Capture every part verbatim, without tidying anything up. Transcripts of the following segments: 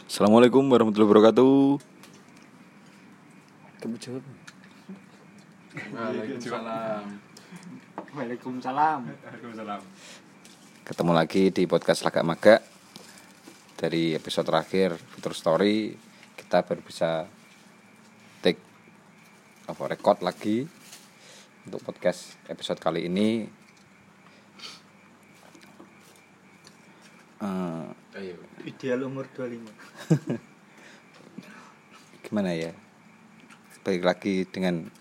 Assalamualaikum warahmatullahi wabarakatuh. Kamu jawab. Waalaikumsalam. Waalaikumsalam. Waalaikumsalam. Ketemu lagi di podcast Lagak Maga. Dari episode terakhir Future Story, kita baru bisa take apa record lagi untuk podcast episode kali ini. Uh, Ayo. Ideal umur dua puluh lima. Gimana ya? Balik lagi dengan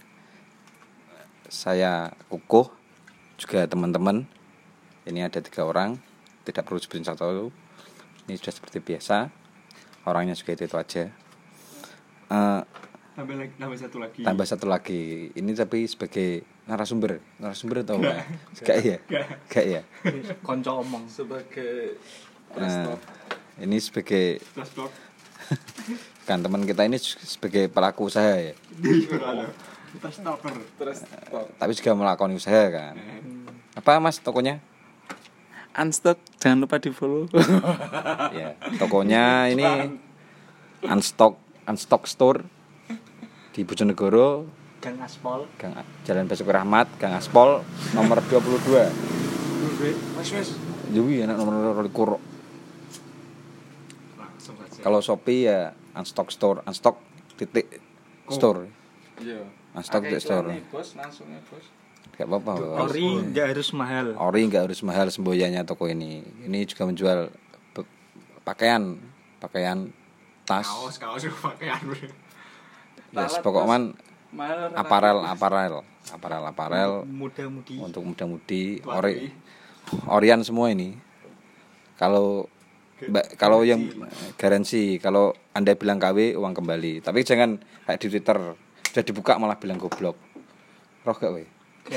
saya Kukuh, juga teman-teman. Ini ada tiga orang, tidak perlu sebutin satu. Ini sudah seperti biasa. Orangnya juga itu, itu aja. Uh, Tambah lagi, tambah satu lagi. tambah satu lagi. Ini tapi sebagai narasumber. Narasumber atau enggak? Enggak ya? Enggak ya? Konco omong. Sebagai Nah, ini sebagai Plus blok. kan teman kita ini sebagai pelaku usaha ya. Kita stalker. terus Tapi juga melakukan usaha kan. Apa Mas tokonya? Unstock, jangan lupa di follow. Ya, tokonya ini Unstock Unstock Store di Bojonegoro, Gang Aspol. Gang Jalan Basuki Rahmat, Gang Aspol, nomor dua puluh dua. Mas mas. Jadi enak nomor likur. Langsung saja. Kalau Shopee ya Unstock Store, Unstock titik store. Iya. Unstock titik store. Bos, langsung ya bos. Gak apa-apa. Bos. Ori nggak harus mahal. Ori nggak harus mahal semboyannya toko ini. Ini juga menjual be- pakaian, pakaian tas. Kaos, kaos pakaian. Yes, pokoknya Mahal. aparel, aparel, aparel, aparel Muda-mudi. untuk muda-mudi, ori, orian semua ini. Kalau ba- kalau yang garansi, kalau Anda bilang K W uang kembali. Tapi jangan kayak di Twitter sudah dibuka malah bilang goblok. Roh gak we?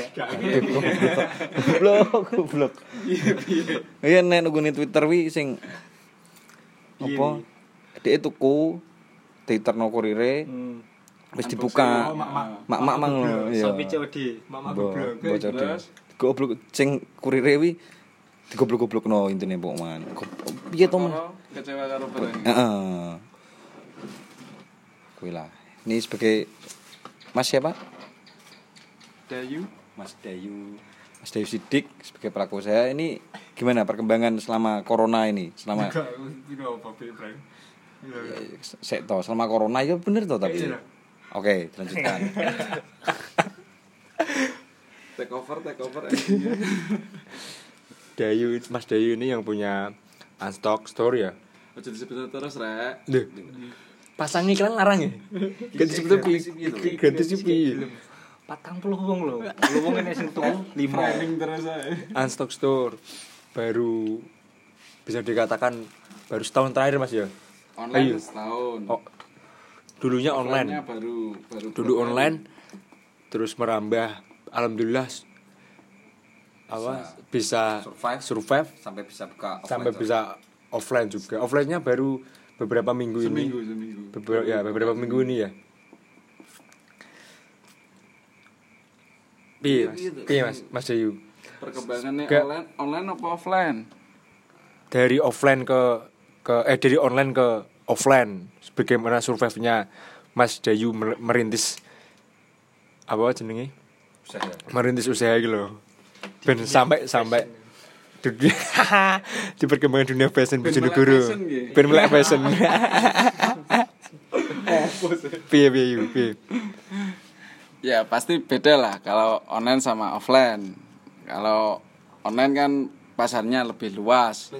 Goblok, goblok. Iya nek nunggu Twitter wi sing apa? Dhek tuku Twitter no kurire Hmm. wis dibuka. Mak-mak mang iya. Sampai C O D. Mama Bo- goblok. bocor deh. Goblok sing kurire wi digoblok-goblokno intine pokoknya. Piye to, Mas? Kecewa karo barang. Heeh. Kuwi lah. Ini sebagai Mas siapa? Dayu. Mas Dayu. Mas Dayu Sidik sebagai pelaku usaha. Ini gimana perkembangan selama corona ini? Selama Itu apa, Ibrahim? sek to, selama corona itu bener to tapi. Oke, lanjutkan. Take over, take over. Dayu, Mas Dayu ini yang punya Unstock Store ya. Ojo disebut terus rek. Duh. Pasang iklan larang ya. Ganti sebut pi. Ganti pi. Patang puluh wong lho. Puluh wong ini sing tuku lima. Trending terus ae. Unstock Store baru bisa dikatakan baru setahun terakhir Mas ya. Online Ayo. setahun. Oh, dulunya Offline-nya online. baru baru Dulu berapa online hari? terus merambah alhamdulillah apa bisa survive survive sampai bisa buka sampai bisa offline juga. Offline-nya baru beberapa minggu ini. Seminggu, seminggu. Beberapa ya beberapa minggu ini ya. Piye Mas? Piye Mas? Mas Dayu. Perkembangannya Gak- online online apa offline? Dari offline ke ke eh dari online ke offline. Bagaimana survive-nya Mas Dayu mer- merintis apa jenenge? usaha. Merintis usaha gitu loh. Ben sampai sampai dunia di perkembangan dunia fashion Ben Bojonegoro. melek fashion, nggih. Ben melek fashion. Piye piye Yu, piye? Ya pasti beda lah kalau online sama offline. Kalau online kan pasarnya lebih luas.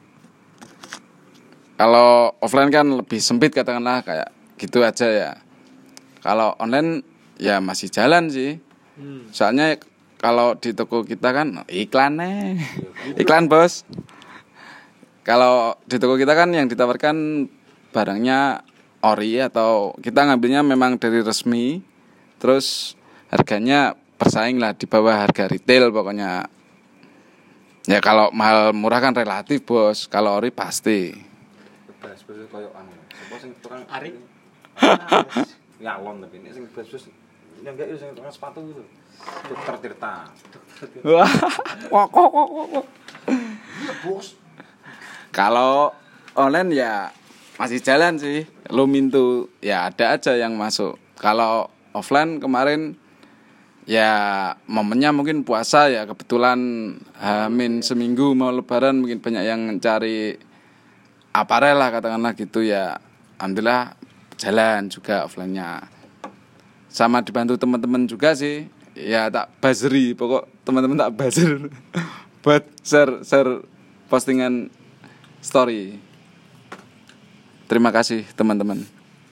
Kalau offline kan lebih sempit katakanlah kayak gitu aja ya. Kalau online ya masih jalan sih. Soalnya kalau di toko kita kan iklannya iklan bos. Kalau di toko kita kan yang ditawarkan barangnya ori atau kita ngambilnya memang dari resmi. Terus harganya bersaing lah di bawah harga retail pokoknya. Ya kalau mahal murah kan relatif bos. Kalau ori pasti. Bas-bas koyo anu. Sopo sing tukang Arik. Nyalon tapi ini sing bas-bas yang enggak sing tukang sepatu itu. Dokter Tirta. Wah, kok kok kok kok. Bos. Kalau online ya masih jalan sih. Lumintu ya ada aja yang masuk. Kalau offline kemarin ya momennya mungkin puasa ya, kebetulan hamin seminggu mau lebaran mungkin banyak yang cari aparel lah katakanlah gitu ya. Alhamdulillah jalan juga offline-nya. Sama dibantu teman-teman juga sih. Ya tak buzzeri, pokok teman-teman tak buzzer buat share share postingan story. Terima kasih teman-teman.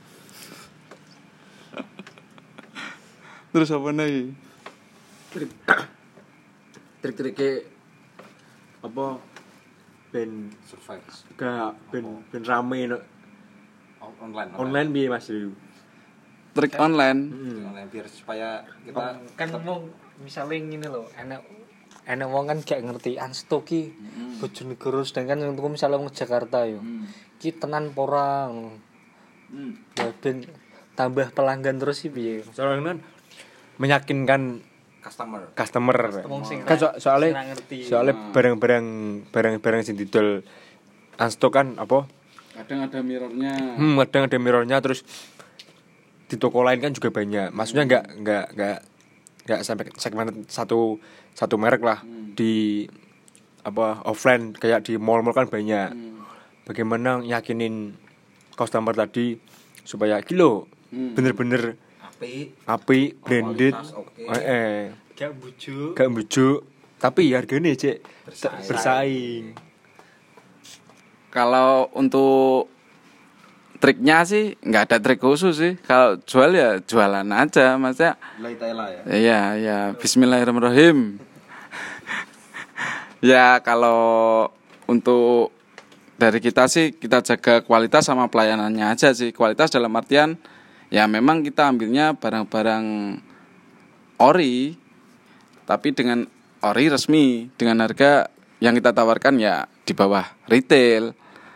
Terus apa nih? Trik trik-triknya apa ben Survive. gak ben ben rame no. Online. Online piye Mas Rio? Trik online. Online biar supaya kita kan ngomong misalnya ngene lho, enak enak wong kan gak ngerti Unstock ki Bojonegoro sedangkan yang tuku misalnya wong Jakarta yo. Ki tenan pora ngono. Hmm. Ya ben tambah pelanggan terus sih piye. Soalnya kan meyakinkan customer. customer. Wong sing Kan so- sing soalnya ra ngerti. soalnya barang-barang barang-barang sing didol Unstock kan apa? Kadang ada mirrornya. Hmm, kadang ada mirrornya terus di toko lain kan juga banyak. Maksudnya nggak nggak nggak nggak sampai segmen satu satu merek lah Hmm. di apa offline kayak di mall-mall kan banyak. Hmm. Bagaimana yakinin customer tadi supaya kilo Hmm. bener-bener Api. api branded, kualitas oke. eh, eh Gak bujuk. gak bujuk tapi harganya cek Bersaing. bersaing. Kalau untuk triknya sih nggak ada trik khusus sih. Kalau jual ya jualan aja, maksudnya. Lai taila ya. Iya, ya. Bismillahirrahmanirrahim. Ya kalau untuk dari kita sih kita jaga kualitas sama pelayanannya aja sih. Kualitas dalam artian ya memang kita ambilnya barang-barang ori, tapi dengan ori resmi, dengan harga yang kita tawarkan ya di bawah retail.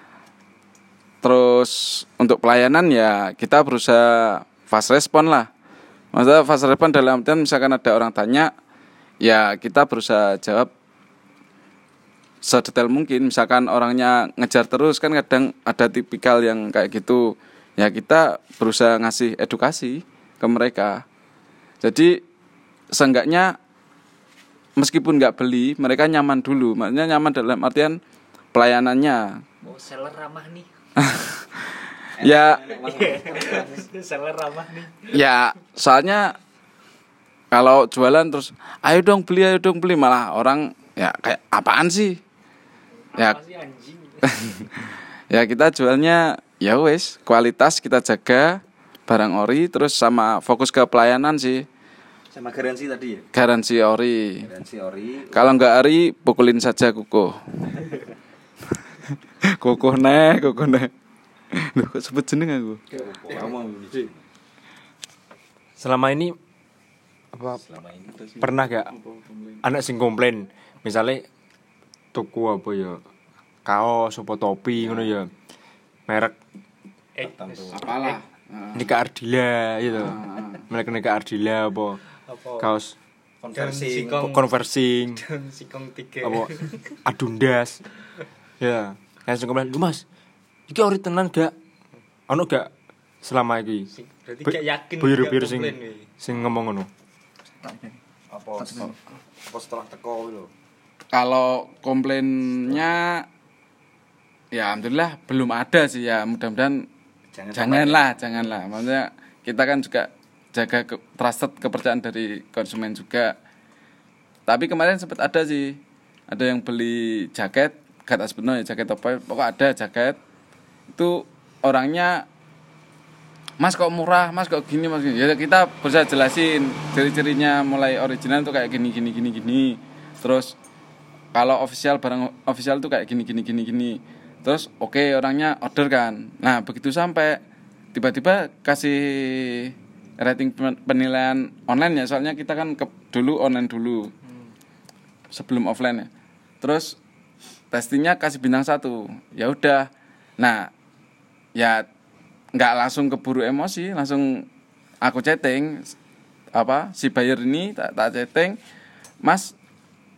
Terus untuk pelayanan ya kita berusaha fast respon lah. Maksudnya fast respon dalam artian misalkan ada orang tanya, ya kita berusaha jawab sedetail mungkin. Misalkan orangnya ngejar terus kan kadang ada tipikal yang kayak gitu. Ya kita berusaha ngasih edukasi ke mereka. Jadi seenggaknya meskipun nggak beli, mereka nyaman dulu. Maksudnya nyaman dalam artian pelayanannya. Oh, seller ramah nih. Ya, Seller ramah nih. ya soalnya kalau jualan terus ayo dong beli, ayo dong beli, malah orang ya kayak apaan sih? Ya, Apa sih anjing? ya kita jualnya ya wes kualitas kita jaga, barang ori, terus sama fokus ke pelayanan sih. Sama garansi tadi ya. Garansi ori. Garansi ori. Kalau nggak ori pukulin saja kuku. Kuku nih, kuku nih. Loh, kok sebut jeneng aku? Ngomong ini. Selama ini apa Selama ini pernah gak anak sing komplain misalnya tuku apa ya kaos apa topi ngono ya merek Eh, Apalah. Nika Ardila gitu. Merek Nika Ardila apa apa? kaos konversi. Sikong. conversing Sikong tiga. apa Adundas. Ya, yang sing komplain, "Lu Mas, iki ori tenan gak? Ono gak selama iki?" Berarti gak yakin Biru-biru gak sing komplain, weh. sing ngomong ngono. Apa apa setelah teko lho. Kalau komplainnya ya alhamdulillah belum ada sih ya, mudah-mudahan Jangan janganlah, janganlah. Maksudnya kita kan juga jaga ke, trusted kepercayaan dari konsumen juga. Tapi kemarin sempat ada sih, ada yang beli jaket, kata sebenarnya jaket apa, pokok ada jaket. Itu orangnya, "Mas kok murah, Mas kok gini, Mas gini." Ya kita berusaha jelasin ciri-cirinya mulai original tuh kayak gini gini gini gini. Terus kalau official barang official tuh kayak gini gini gini gini. Terus oke okay, orangnya order kan. Nah, begitu sampai tiba-tiba kasih rating penilaian online ya, soalnya kita kan ke, dulu online dulu. Sebelum offline ya. Terus testingnya kasih bintang satu. Ya udah. Nah, ya nggak langsung keburu emosi, langsung aku chatting apa si buyer ini tak tak chatting, "Mas,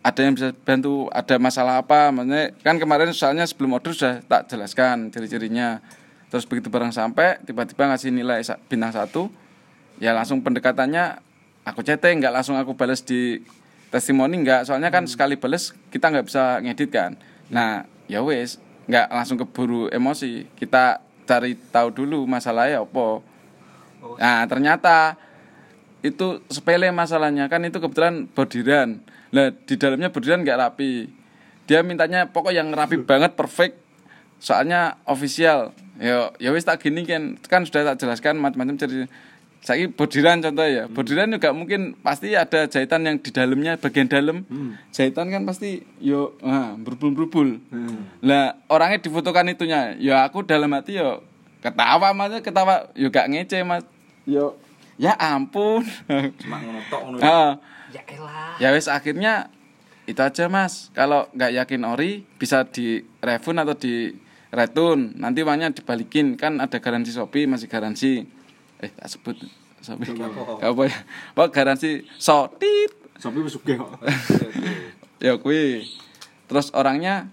ada yang bisa bantu, ada masalah apa, maksudnya kan kemarin soalnya sebelum order sudah tak jelaskan ciri-cirinya. Terus begitu barang sampai tiba-tiba ngasih nilai bintang satu, ya langsung pendekatannya aku chatting, nggak langsung aku balas di testimoni, nggak, soalnya kan hmm. sekali balas kita nggak bisa ngedit kan. Nah ya wes, nggak langsung keburu emosi, kita cari tahu dulu masalahnya apa. Nah ternyata itu sepele masalahnya, kan itu kebetulan bordiran. Lah di dalamnya bordiran nggak rapi. Dia mintanya pokok yang rapi banget, perfect. Soalnya official. Ya ya wis tak gini kan, kan sudah tak jelaskan macam-macam cerita. Saya bordiran contoh ya. Bordiran juga mungkin pasti ada jahitan yang di dalamnya, bagian dalam. Hmm. Jahitan kan pasti yo nah, berubul-berubul. Hmm. Lah orangnya difotokan itunya. Ya aku dalam hati yo ketawa Mas, ketawa yo gak ngece Mas. Yo ya ampun. Cuma ngonotok ngono. Heeh. Ya elah. Ya wis akhirnya itu aja Mas. Kalau nggak yakin ori bisa di refund atau di return. Nanti uangnya dibalikin, kan ada garansi Shopee, masih garansi. Eh tak sebut Shopee. Apa ya? Pak garansi Sotit. Shopee wis sugih kok. Ya kuwi. Terus orangnya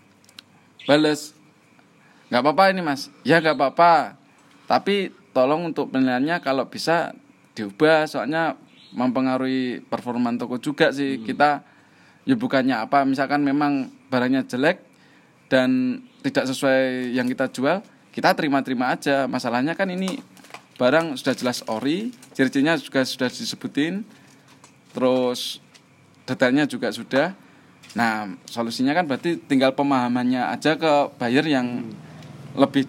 bales, nggak apa-apa ini Mas. Ya nggak apa-apa. Tapi tolong untuk penilaiannya kalau bisa diubah, soalnya mempengaruhi performa toko juga sih. Hmm. Kita ya bukannya apa, misalkan memang barangnya jelek dan tidak sesuai yang kita jual, kita terima-terima aja. Masalahnya kan ini barang sudah jelas ori, ciri-cirinya juga sudah disebutin, terus detailnya juga sudah. Nah solusinya kan berarti tinggal pemahamannya aja ke buyer yang hmm. lebih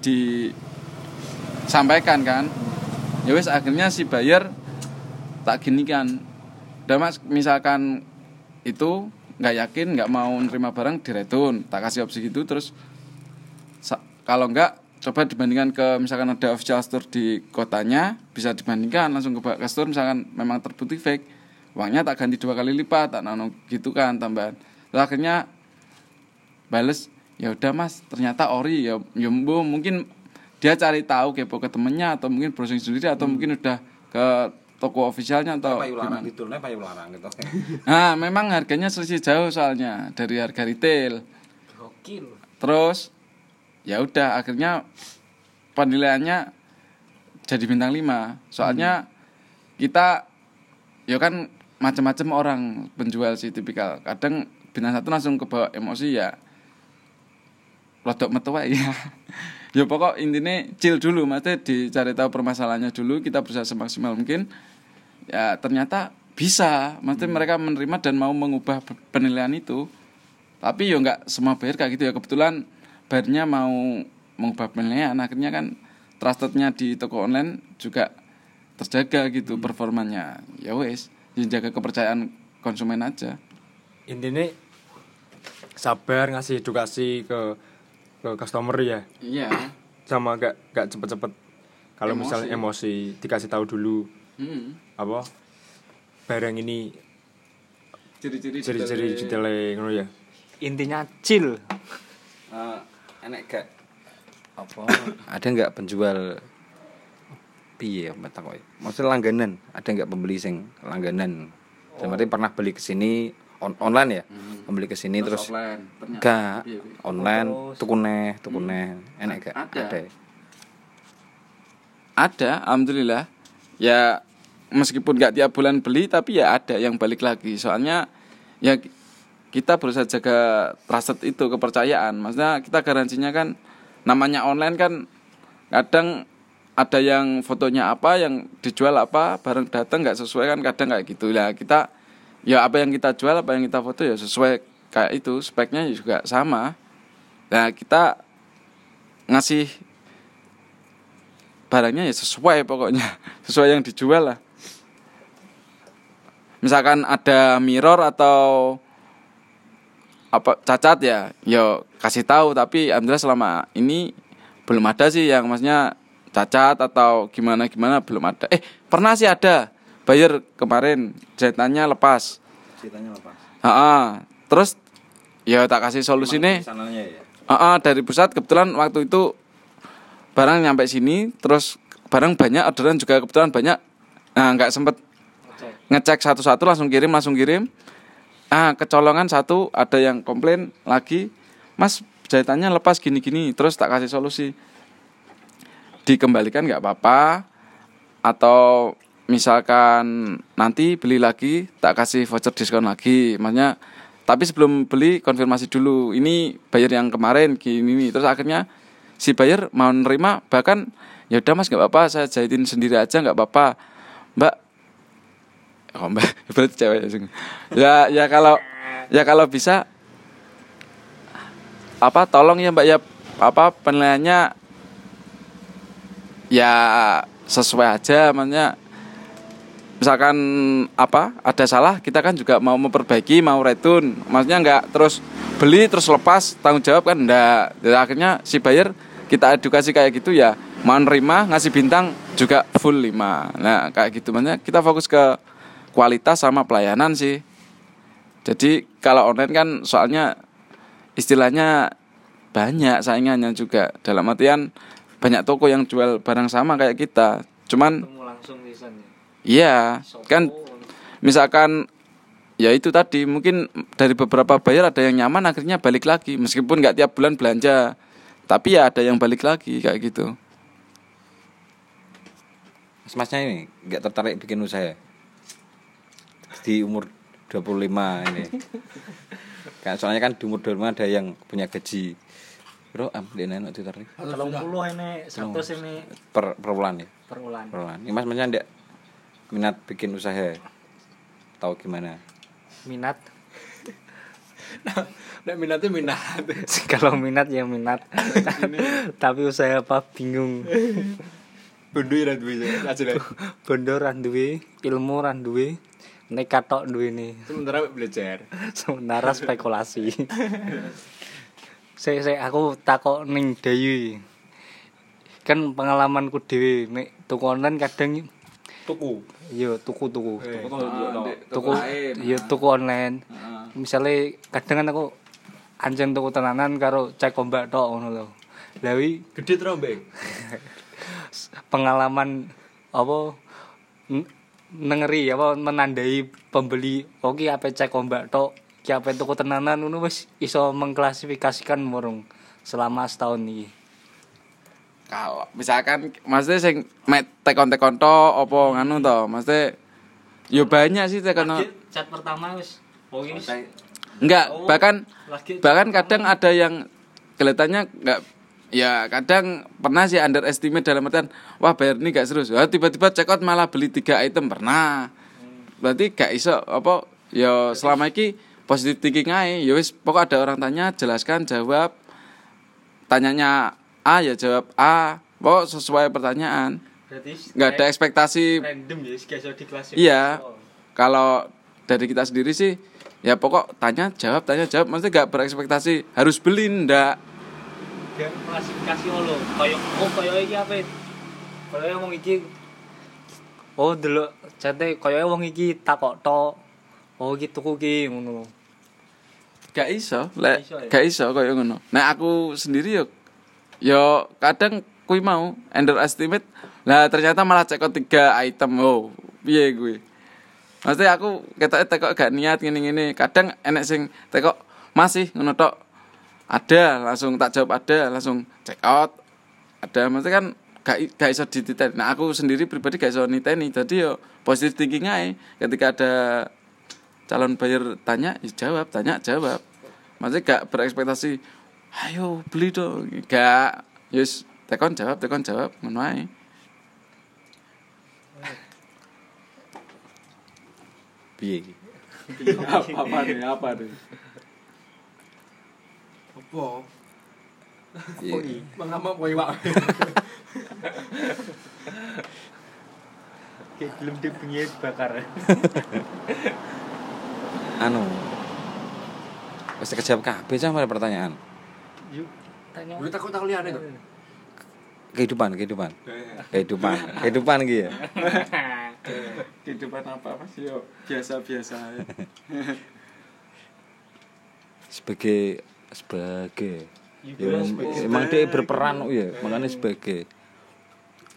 disampaikan kan. Ya wis akhirnya si buyer tak gini kan, udah Mas misalkan itu nggak yakin, nggak mau nerima barang diretun, tak kasih opsi gitu. Terus sa- kalau nggak coba dibandingkan ke misalkan ada official store di kotanya, bisa dibandingkan langsung ke ke store, misalkan memang terbukti fake, uangnya tak ganti dua kali lipat, tak nano gitu kan tambahan. Terus akhirnya bales, ya udah Mas ternyata ori, ya ya mungkin dia cari tahu kepo ke temennya, atau mungkin browsing sendiri, atau hmm. mungkin udah ke toko ofisialnya atau gimana gitu, nih payu larang gitu. Nah, memang harganya selisih jauh soalnya dari harga retail. Gokil. Terus ya udah akhirnya penilaiannya jadi bintang lima. Soalnya hmm. kita ya kan macam-macam orang penjual sih tipikal. Kadang bintang satu langsung kebawa emosi ya. Rodok metu wae ya. Ya pokok intinya chill dulu, maksudnya dicari tahu permasalahannya dulu, kita berusaha semaksimal mungkin. Ya ternyata bisa, maksudnya hmm. mereka menerima dan mau mengubah penilaian itu. Tapi ya nggak semua buyer kayak gitu ya. Kebetulan buyernya mau mengubah penilaian, akhirnya kan trustednya di toko online juga terjaga gitu hmm. performanya. Ya wes, jaga kepercayaan konsumen aja. Intinya sabar ngasih edukasi ke ke customer ya. Iya. Sama gak gak cepet-cepet. Kalau misalnya emosi dikasih tahu dulu. Hmm. Apa? Barang ini ciri-ciri ciri-ciri detail ngono ya. Intinya chill. Uh, enek gak apa? Ada enggak penjual piye mata kowe? Maksudnya langganan, ada enggak pembeli sing langganan? Oh. Berarti pernah beli ke sini on- online ya? Hmm. Pembeli ke sini terus, terus offline. Enggak, online tuku neh, tuku neh. Enek gak? Ada. Ada. Ada, alhamdulillah. Ya meskipun enggak tiap bulan beli, tapi ya ada yang balik lagi. Soalnya ya kita berusaha jaga trusted itu, kepercayaan. Maksudnya kita garansinya kan, namanya online kan kadang ada yang fotonya apa, yang dijual apa, barang datang nggak sesuai kan, kadang kayak gitu lah. Kita ya apa yang kita jual, apa yang kita foto ya sesuai kayak itu, speknya juga sama. Nah kita ngasih barangnya ya sesuai pokoknya, sesuai yang dijual lah. Misalkan ada mirror atau apa cacat ya, yo kasih tahu. Tapi alhamdulillah selama ini belum ada sih yang maksudnya cacat atau gimana gimana, belum ada. Eh pernah sih ada buyer kemarin jahitannya lepas. Jahitannya lepas. Ah, terus ya tak kasih solusi nih. Ah, dari pusat kebetulan waktu itu barang nyampe sini, terus barang banyak, orderan juga kebetulan banyak. Nah nggak sempet ngecek satu-satu, langsung kirim langsung kirim. ah kecolongan satu, ada yang komplain lagi, Mas jahitannya lepas gini-gini, terus tak kasih solusi, dikembalikan nggak apa-apa, atau misalkan nanti beli lagi tak kasih voucher diskon lagi, maksudnya tapi sebelum beli konfirmasi dulu ini bayar yang kemarin gini, terus akhirnya si buyer mau nerima, bahkan ya udah Mas nggak apa-apa saya jahitin sendiri aja nggak apa-apa Mbak. Oh Mbak berarti cewek ya. Ya kalau ya kalau bisa apa tolong ya Mbak ya, apa penilaiannya ya sesuai aja, maksudnya misalkan apa ada salah kita kan juga mau memperbaiki, mau retun, maksudnya nggak terus beli terus lepas tanggung jawab kan enggak. Jadi akhirnya si buyer kita edukasi kayak gitu ya, mau nerima ngasih bintang juga full lima. Nah kayak gitu, maksudnya kita fokus ke kualitas sama pelayanan sih. Jadi kalau online kan soalnya istilahnya banyak saingannya juga, dalam artian banyak toko yang jual barang sama kayak kita, cuman langsung lisan ya. Iya, kan misalkan ya itu tadi mungkin dari beberapa buyer ada yang nyaman akhirnya balik lagi meskipun nggak tiap bulan belanja, tapi ya ada yang balik lagi kayak gitu. Mas-masnya ini nggak tertarik bikin usaha di umur dua puluh lima ini? Kan soalnya kan di umur dua puluh lima ada yang punya gaji bro am dia enak ditarik tiga puluh ini seratus ini per per bulan ya, per bulan. per bulan. Ini mas-masnya enggak minat bikin usaha tahu gimana? Minat Nek minatnya minat. kalau minat ya minat tapi usaha apa bingung. Bondo ya duwe aja lah. Bondo ra duwe, ilmu ra duwe, nekat tok duwe ne. Sementara belajar. Sementara spekulasi. Saya saya aku takok ning Dayu. Kan pengalamanku dhewe nek tuku online kadang Tuku. yo tuku-tuku. Eh. Tuku yo tuku online. Misale kadang kan aku anjing tuku tenanan karo cek ombak tok ngono lho. Lah wi Gede trombeng. pengalaman apa n- nengeri apa menandai pembeli oke apa cek ombak tok ki apa tuku tenanan ngono wis iso mengklasifikasikan murung selama setahun iki. Kalau misalkan maksudnya sing mek tekon-tekon to apa nganu to, maksudnya yo banyak sih tekon. Chat pertama wis oke wis. Enggak, Oh, bahkan lagi bahkan kadang ada yang kelihatannya enggak, ya kadang pernah sih underestimate dalam artian wah bayar ini gak serius. Wah tiba-tiba check out malah beli tiga item pernah. Berarti gak iso apa ya selama iki positive thinking ae. Ya wis pokok ada orang tanya jelaskan jawab. Tanyanya A ya jawab A. Pokok sesuai pertanyaan. berarti Enggak ada ekspektasi. random ya gak iso diklasifikasi. Iya. Kalau dari kita sendiri sih ya pokok tanya jawab tanya jawab, maksudnya gak berekspektasi harus beli ndak. Gak klasifikasi lo koyo oh koyo iki apa koyo wong iki oh delok cete koyo wong iki takok tok oh iki tuku ki ngono. Gak iso, lek Gak iso ya? gak iso koyo ngono. Nah aku sendiri yo yo kadang kuwi mau underestimate. Lah ternyata malah cekot tiga item. Oh, piye kuwi? Maksudnya aku ketoke tekok gak niat ngene-ngene. Kadang enek sing tekok masih ngono tok. Ada, langsung tak jawab ada, langsung check out. Ada, maksudnya kan gak gak iso dititeni. Nah, aku sendiri pribadi gak iso niteni. Jadi yo positive thinking ae. Ketika ada calon buyer tanya, ya jawab, tanya, jawab. Maksudnya gak berekspektasi, ayo beli dong. Gak, yes, tekon jawab, tekon jawab, ngono ae. Piye iki? apa apa nih, apa nih? Apa? Iya. Mengapa kowe wae? Kayak belum dibengi bakar. Anu. Wis kejawab kabeh sama pertanyaan. Yuk tanya. Lu takut-takut liyane to? Kehidupan, kehidupan. Kehidupan, kehidupan iki ya. Kehidupan apa apa sih yo biasa-biasa aja. Sebagai sebagai Iya, ya, sebagai- emang dia berperan ya, makanya sebagai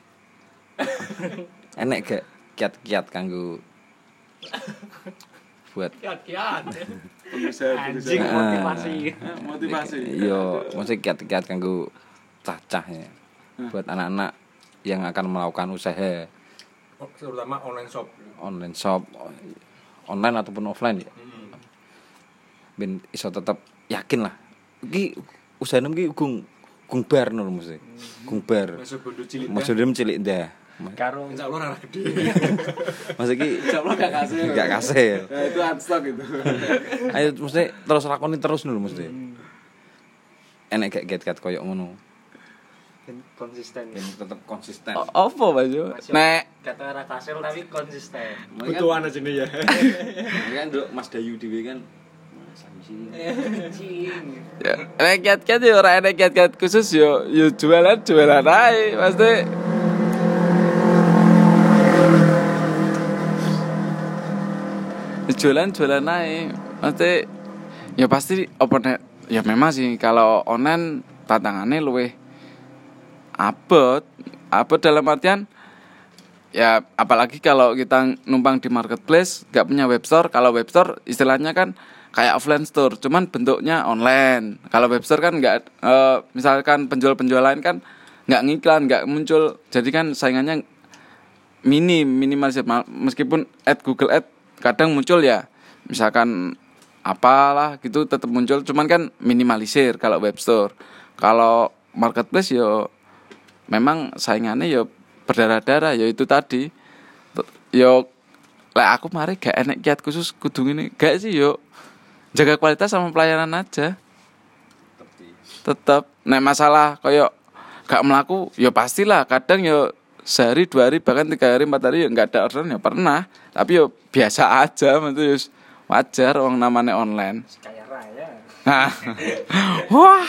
enek gak kiat-kiat kanggo buat Kiat-kiat. Pengusaha Anjing Ah. motivasi. motivasi. yo mesti kiat-kiat kanggo cacah ya. Buat anak-anak yang akan melakukan usaha Oh, terutama online shop. online shop online ataupun offline ya. Ben iso tetep yakin lah. Iki usahane iki gung gung bar nul mesti. Gung bar. Masuk bondo cilik. Maksudnya cilik dah. Karo Insyaallah ora gede. Maksud iki Insyaallah gak kasih. gak kasih. Nah, itu unstock itu. Ayo mesti terus lakoni terus nul mesti. Enek gak get-get koyo ngono. konsisten. Ben tetep konsisten. Apa Mas yo? Nek Kata ora kasil tapi konsisten. Butuhan aja nih ya. Kan nduk Mas Dayu dhewe kan sangsi. Anjing. ya, nek kiat-kiat yo ora enek kiat-kiat khusus yo yo jualan jualan ae pasti. Jualan jualan ae. Pasti ya pasti apa nek ya memang sih kalau online tantangannya luwih abot. Abot dalam artian ya apalagi kalau kita numpang di marketplace gak punya webstore. Kalau webstore istilahnya kan kayak offline store, cuman bentuknya online. Kalau webstore kan nggak, e, misalkan penjual-penjual lain kan nggak ngiklan, nggak muncul. Jadi kan saingannya minim, minimalisir. Meskipun ad Google Ad kadang muncul ya, misalkan apalah gitu tetap muncul, cuman kan minimalisir kalau webstore. Kalau marketplace yo memang saingannya yo berdarah-darah, yo itu tadi. Yo lah aku mari gak enek kiat khusus kudu ngene. Gak sih yo jaga kualitas sama pelayanan aja. Tetap nek masalah koyo gak melaku ya pastilah kadang yo sehari dua hari bahkan tiga hari empat hari ya nggak ada orderan ya pernah, tapi yo biasa aja maksudnya wajar orang namanya online. Kaya raya. Nah. Wah.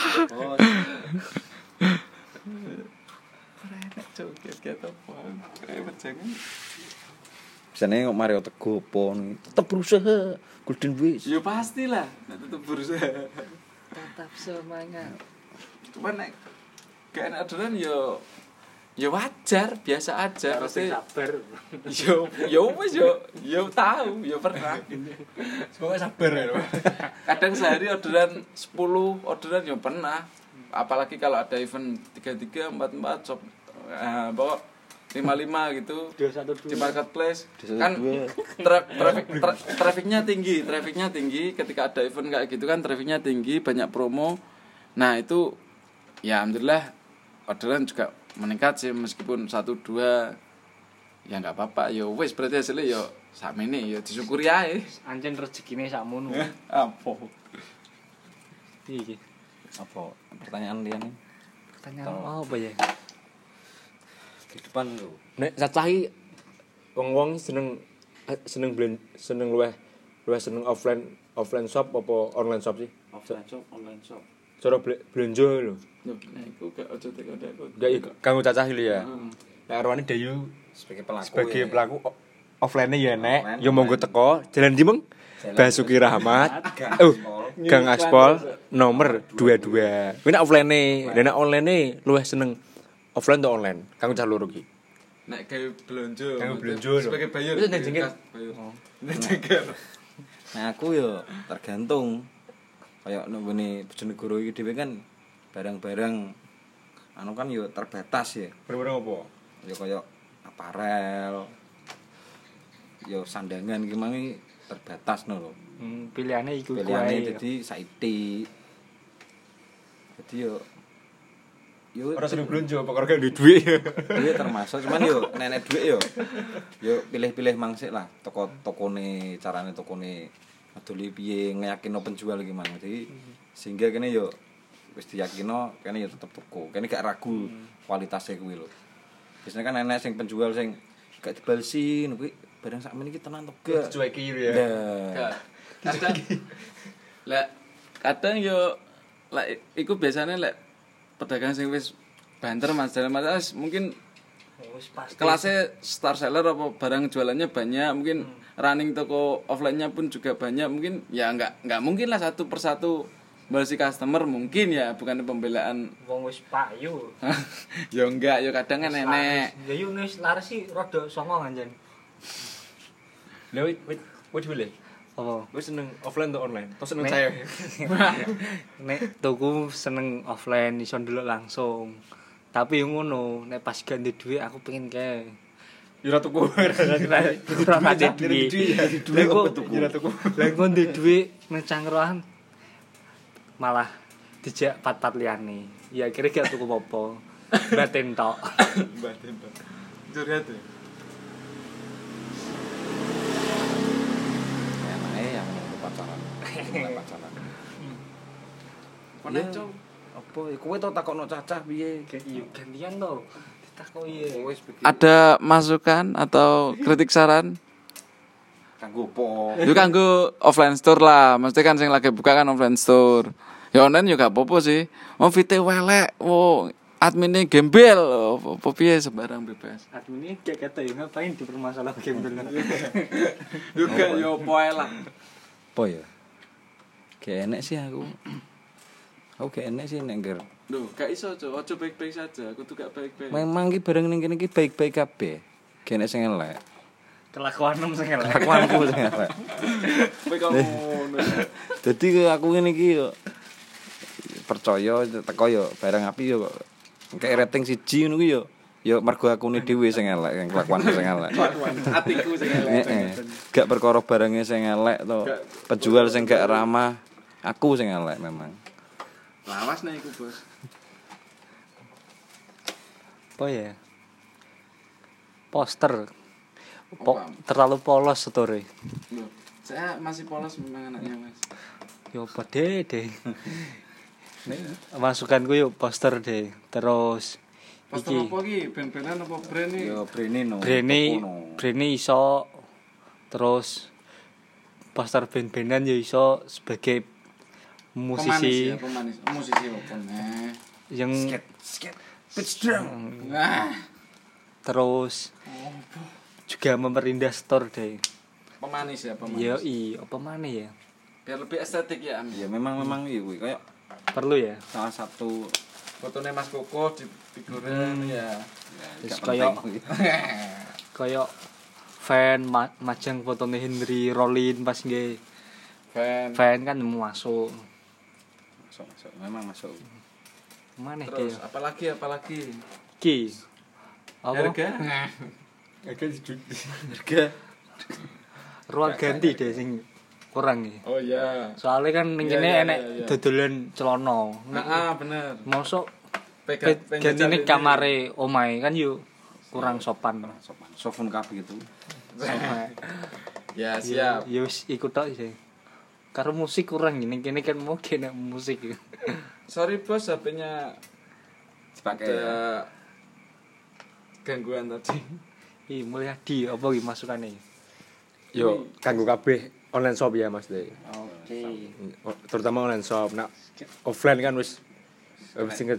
Biasanya kok Mario Teguh pon tetep berusaha Golden Wish. Ya pastilah, tetap berusaha. Tetap semangat. Cuman nek gak enak orderan yo ya wajar, biasa aja. Pasti sabar. yo yo wis yo yo tahu, yo pernah. Semoga sabar ya. Kadang sehari orderan sepuluh orderan yo pernah. Apalagi kalau ada event tiga tiga empat empat shop eh bawa lima lima gitu dua satu dua di marketplace kan tra- traffic tra- trafficnya tinggi trafficnya tinggi ketika ada event kayak gitu kan trafficnya tinggi banyak promo. Nah itu ya alhamdulillah orderan juga meningkat sih meskipun satu dua ya nggak apa-apa yo wes berarti hasilnya yo sakmene yo disyukuri ae. Anjen rezekine sakmono. Apa Iki. Apa pertanyaan dia nih? Pertanyaan apa ya? Kehidupan lu. Nek cacahi wong-wong seneng eh, seneng blend seneng luweh luweh seneng offline offline shop apa online shop sih? offline shop online shop Cara ble- belanja lho. nah iku gak aja teko teko Enggak ya kanggo cacahi lho ya. Heeh. Nek arwane Dayu Sebagai pelaku. sebagai ya. pelaku o- offline-nya ya nek, Offline, yo monggo teko Jalan di Meng. Jalan Basuki Rahmat. Gang Oh, Aspol. Gang Aspol nomor dua puluh dua. Kuwi nek offline-ne, nek online-ne luwih seneng offline atau online? Kanggo cah loro ki. nek gawe belanja Gawe belanja lho. sebagai buyer Wis nek jengkel. jengkel Nah aku yo tergantung. Kayak nunggune Bojonegoro iki dhewe kan barang-barang anu kan yo terbatas ya. Barang apa? Yo kayak aparel. Yo sandangan iki mang terbatas no lho. Hmm, pilihane iku iku Pilihane ae. dadi saiti. Dadi yo yo Ora sering belanja apa karo duwe duit. iya termasuk cuman yo nenek duit yo yo pilih-pilih mangsik lah toko tokone carane tokone adoli piye ngeyakino penjual iki mang jadi sehingga kene yo wis diyakino kene yo tetep toko kene gak ragu kualitasnya kuwi lho biasanya kan nenek sing penjual sing gak dibalsin kuwi barang sakmene iki tenan to gak Cueki ya. Nah, kadang lek kadang yo lek iku biasanya lek pedagang sing wis banter Mas dalam atas mungkin Wis pasti. kelasnya star seller apa barang jualannya banyak mungkin running toko offline-nya pun juga banyak mungkin ya nggak nggak mungkin lah satu persatu balsi customer mungkin ya bukan pembelaan Wong wis payu. ya enggak ya kadang kan nenek Ya yo wis laris sih rada songong anjen. Lha wit wit wit dhewe. Apa? Wis seneng offline atau online? Atau seneng Nek- saya? Nek tuku seneng offline iso ndelok langsung. Tapi yo ngono, nek pas ganti dhuwit aku pengen kae. Yo ora tuku. Ora ada duit. Lah kok Ora tuku. lah kok ndek dhuwit nang cangkruan malah dijak pat-pat liyane. Ya akhirnya gak tuku apa-apa. Batin tok. Batin tok. Curhat ya. Emangnya yang menunggu pacaran. Mulai pacaran. Konek cok. Apa ya kowe tau takokno cacah piye? Iya gantian to. Ditakoki. Wis begini. Ada masukan atau kritik saran? Kanggo apa? Itu kanggo offline store lah. Mesti kan sing lagi buka kan offline store. Ya online juga apa-apa sih. Mau vite welek, wo adminnya gembel, apa piye sembarang bebas. Admin ini kayak kata ya ngapain dipermasalahkan gembel. Juga yo poe lah. Apa ya? Kayak enek sih aku. Aku kayak enek sih nek ngger. Loh, gak iso, Cok. Ojo baik-baik saja. Aku tuh gak baik-baik. Memang ki bareng ning kene iki baik-baik kabeh. Kayak enek sing elek. Kelakuanem sing elek. Kelakuanku sing elek. Kowe kok ngono. Dadi aku ngene iki yo percaya teko yo barang api yo kayak rating siji ngono ku yo yo mergo akune dhewe sing elek, sing kelakuanku sing elek. Atiku sing elek. Heeh. Gak perkara barangnya sing elek to. Penjual sing gak ramah, aku sing elek memang. Lawas nih iku, Bos. Apa ya? Poster. Po- terlalu polos story. Loh, saya masih polos memang anaknya, Mas. Yo pede deh. Nek masukanku yo poster deh. Terus Poster iki apa iki? Ben-benan apa brand iki? Yo brene no. Brene Brene iso terus poster band-bandan ya iso sebagai musisi Pemanis ya, pemanis. Oh, musisi apa nih? yang Skate pitch drum. Nah, terus juga memperindah store deh. pemanis ya, pemanis. Yo i apa mana ya? Biar lebih estetik ya, Am. Ya memang memang iya kuwi kayak Perlu ya. salah satu Fotonya Mas Koko di figuran ya. Terus gak kayak penting kuwi. kayak fan ma- majang fotone Henry Rollin pas nge Fan. fan kan mau masuk. Masuk masuk memang masuk. Mana Terus kayak apalagi apalagi? ki? Apa? Harga? Harga hidup. Harga. Ruang ganti deh sing kurang nih. Oh iya. Soalnya kan ning Iya, kene iya, enek iya, iya. dodolan celana. Ah, ah bener. Mosok Pegang gantine kamare omahe kan yo kurang sopan. Sopan. Sofun kabeh gitu. Ya, siap. Ya wis iku tok sih. Karo musik kurang ning kene kan mau kene musik. Sorry bos, H P-nya Dipakai ada ya. gangguan tadi. Ih, Mulyadi apa iki masukane? Yo kanggo kabeh online shop ya Mas De. Oke. Terutama online shop. Nah, offline kan wis wis sing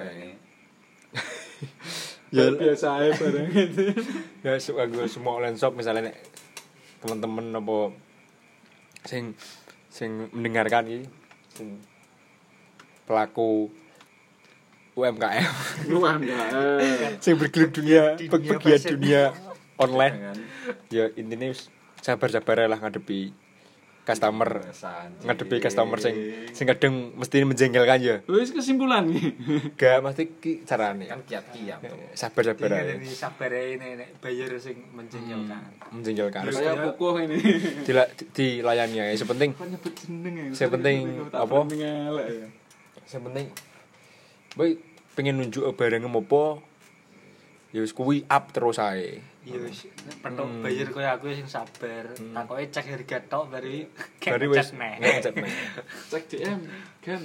Ya biasa aja bareng itu. ya su- kanggo semua online shop misalnya nek teman-teman apa sing sing mendengarkan iki sing pelaku U M K M Wah, enggak. sing bergelut dunia Di dunia pegiat fashion. dunia online ya intinya wis sabar-sabar lah ngadepi customer ngadepi customer sing sing kadang mesti menjengkelkan ya Wis kesimpulan nih. gak mesti ki carane Kan kiat-kiat tuh. sabar-sabar ae. Ini sabar ae nek bayar sing menjengkelkan. menjengkelkan Kayak kukuh ini. Dila, dilayani ya sepenting Kok nyebut jeneng ya? Sepenting apa? Ngelek ya. sepenting boy pengen nunjuk barang apa ya wis kuwi up terus ae Iya wis petok bayar koyo aku sing sabar. Takoke cek harga tok bari bari wis ngecek neh. ngecek neh Cek D M kan.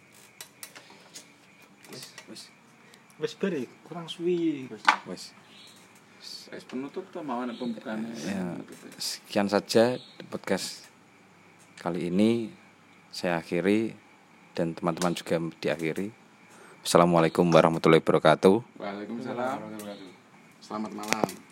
Wis bari kurang suwi. Wes. Wis penutup tuh mau ana pembukaannya. Ya, sekian saja podcast kali ini saya akhiri dan teman-teman juga diakhiri. Assalamualaikum warahmatullahi wabarakatuh. Waalaikumsalam. Selamat malam.